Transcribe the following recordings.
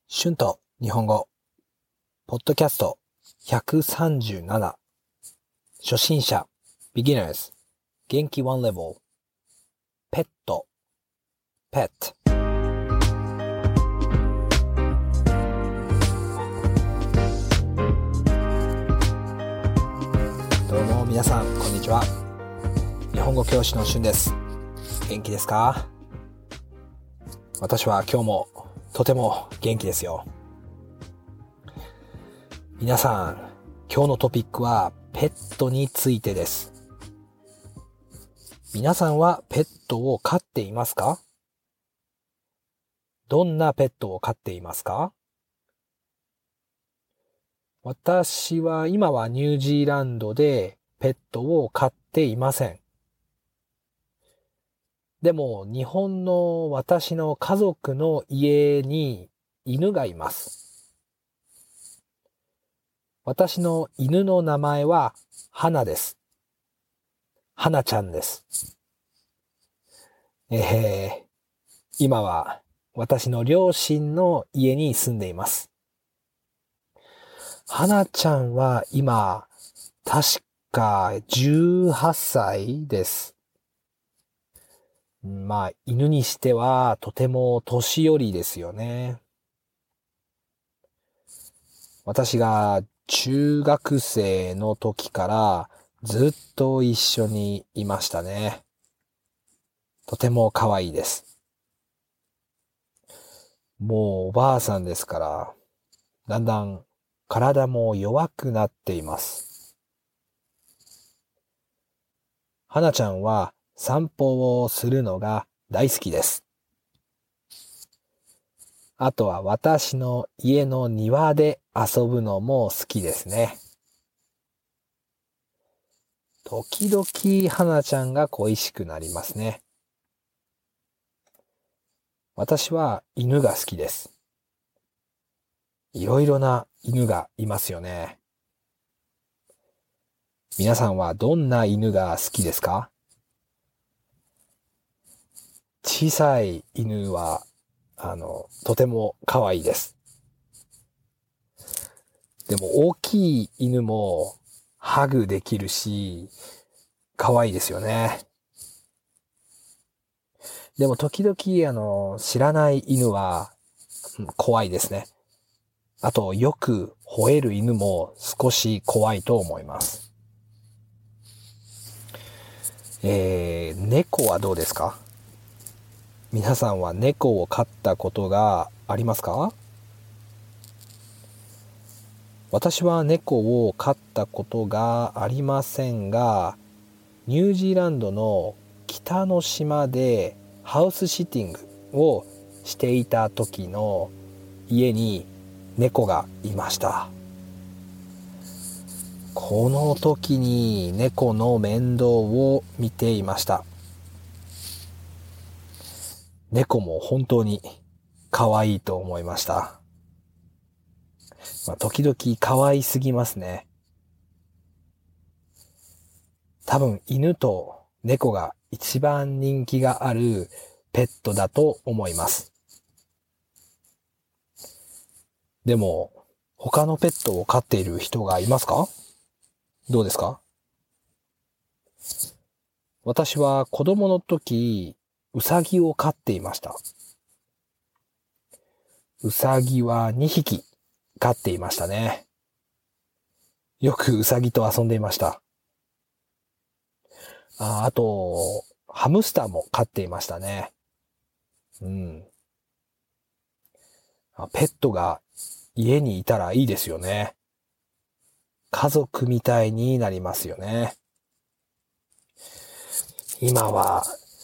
春と日本語、ポッドキャスト137、初心者、beginners、元気1レベル、ペット、pet。どうも皆さん、こんにちは。日本語教師の春です。元気ですか？私は今日もとても元気ですよ。皆さん、今日のトピックはペットについてです。皆さんはペットを飼っていますか？どんなペットを飼っていますか？私は今はニュージーランドでペットを飼っていません。でも日本の私の家族の家に犬がいます。私の犬の名前は花です。花ちゃんです。今は私の両親の家に住んでいます。花ちゃんは今確か18歳です。犬にしてはとても年寄りですよね。私が中学生の時からずっと一緒にいましたね。とても可愛いです。もうおばあさんですから、だんだん体も弱くなっています。花ちゃんは散歩をするのが大好きです。あとは私の家の庭で遊ぶのも好きですね。時々花ちゃんが恋しくなりますね。私は犬が好きです。いろいろな犬がいますよね。皆さんはどんな犬が好きですか？小さい犬は、とても可愛いです。でも大きい犬もハグできるし、可愛いですよね。でも時々知らない犬は怖いですね。あとよく吠える犬も少し怖いと思います。猫はどうですか？皆さんは猫を飼ったことがありますか？私は猫を飼ったことがありませんが、ニュージーランドの北の島でハウスシッティングをしていた時の家に猫がいました。この時に猫の面倒を見ていました。猫も本当に可愛いと思いました。時々可愛すぎますね。多分犬と猫が一番人気があるペットだと思います。でも他のペットを飼っている人がいますか？どうですか？私は子供の時、ウサギを飼っていました。ウサギは2匹飼っていましたね。よくウサギと遊んでいました。あと、ハムスターも飼っていましたね。ペットが家にいたらいいですよね。家族みたいになりますよね。今は、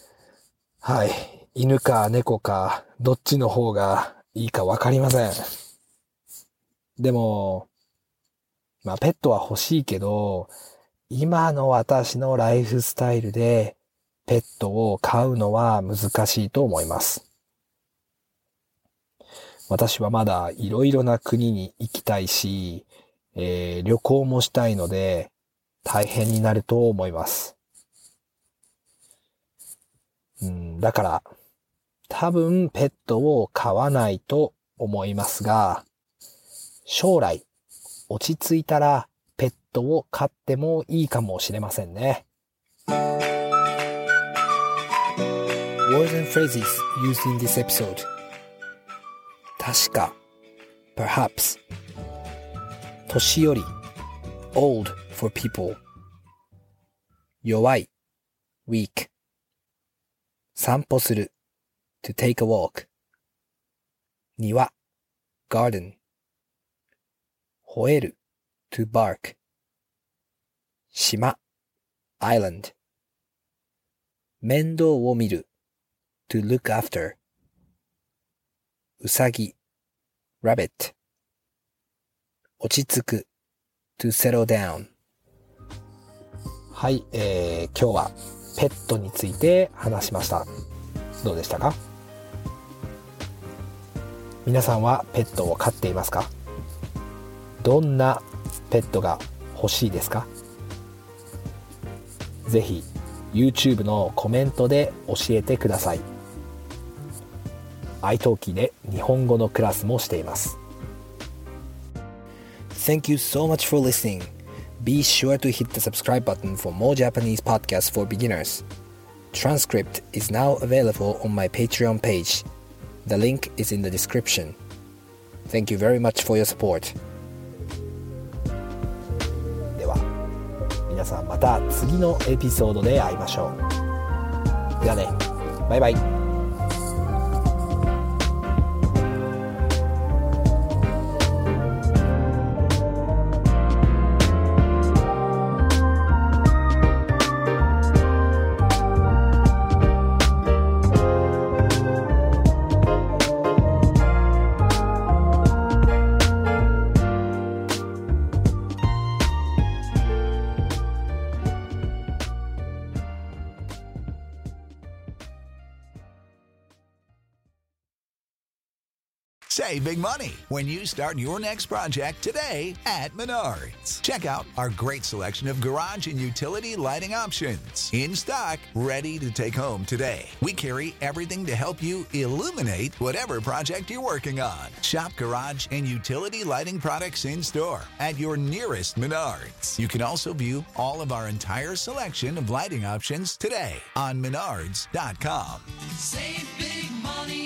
犬か猫か、どっちの方がいいかわかりません。でも、ペットは欲しいけど、今の私のライフスタイルでペットを飼うのは難しいと思います。私はまだいろいろな国に行きたいし、旅行もしたいので大変になると思います。だから多分ペットを飼わないと思いますが、将来落ち着いたらペットを飼ってもいいかもしれませんね。Words and phrases used in this episode. 確か perhaps 年寄り old for people 弱い weak 散歩する to take a walk 庭 garden 吠える to bark 島 island 面倒を見る to look after うさぎ rabbit 落ち着く to settle down はい、今日はペットについて話しました。どうでしたか？皆さんはペットを飼っていますか？どんなペットが欲しいですか？ぜひ YouTube のコメントで教えてください。iTalki で日本語のクラスもしています。Thank you so much for listening. Be sure to hit the subscribe button for more Japanese podcasts for beginners. Transcript is now available on my Patreon page. The link is in the description. Thank you very much for your support. では、皆さんまた次のエピソードで会いましょう。ではね、バイバイ。 Save big money when you start your next project today at Menards. Check out our great selection of garage and utility lighting options. In stock, ready to take home today. We carry everything to help you illuminate whatever project you're working on. Shop garage and utility lighting products in store at your nearest Menards. You can also view all of our entire selection of lighting options today on Menards.com. Save big money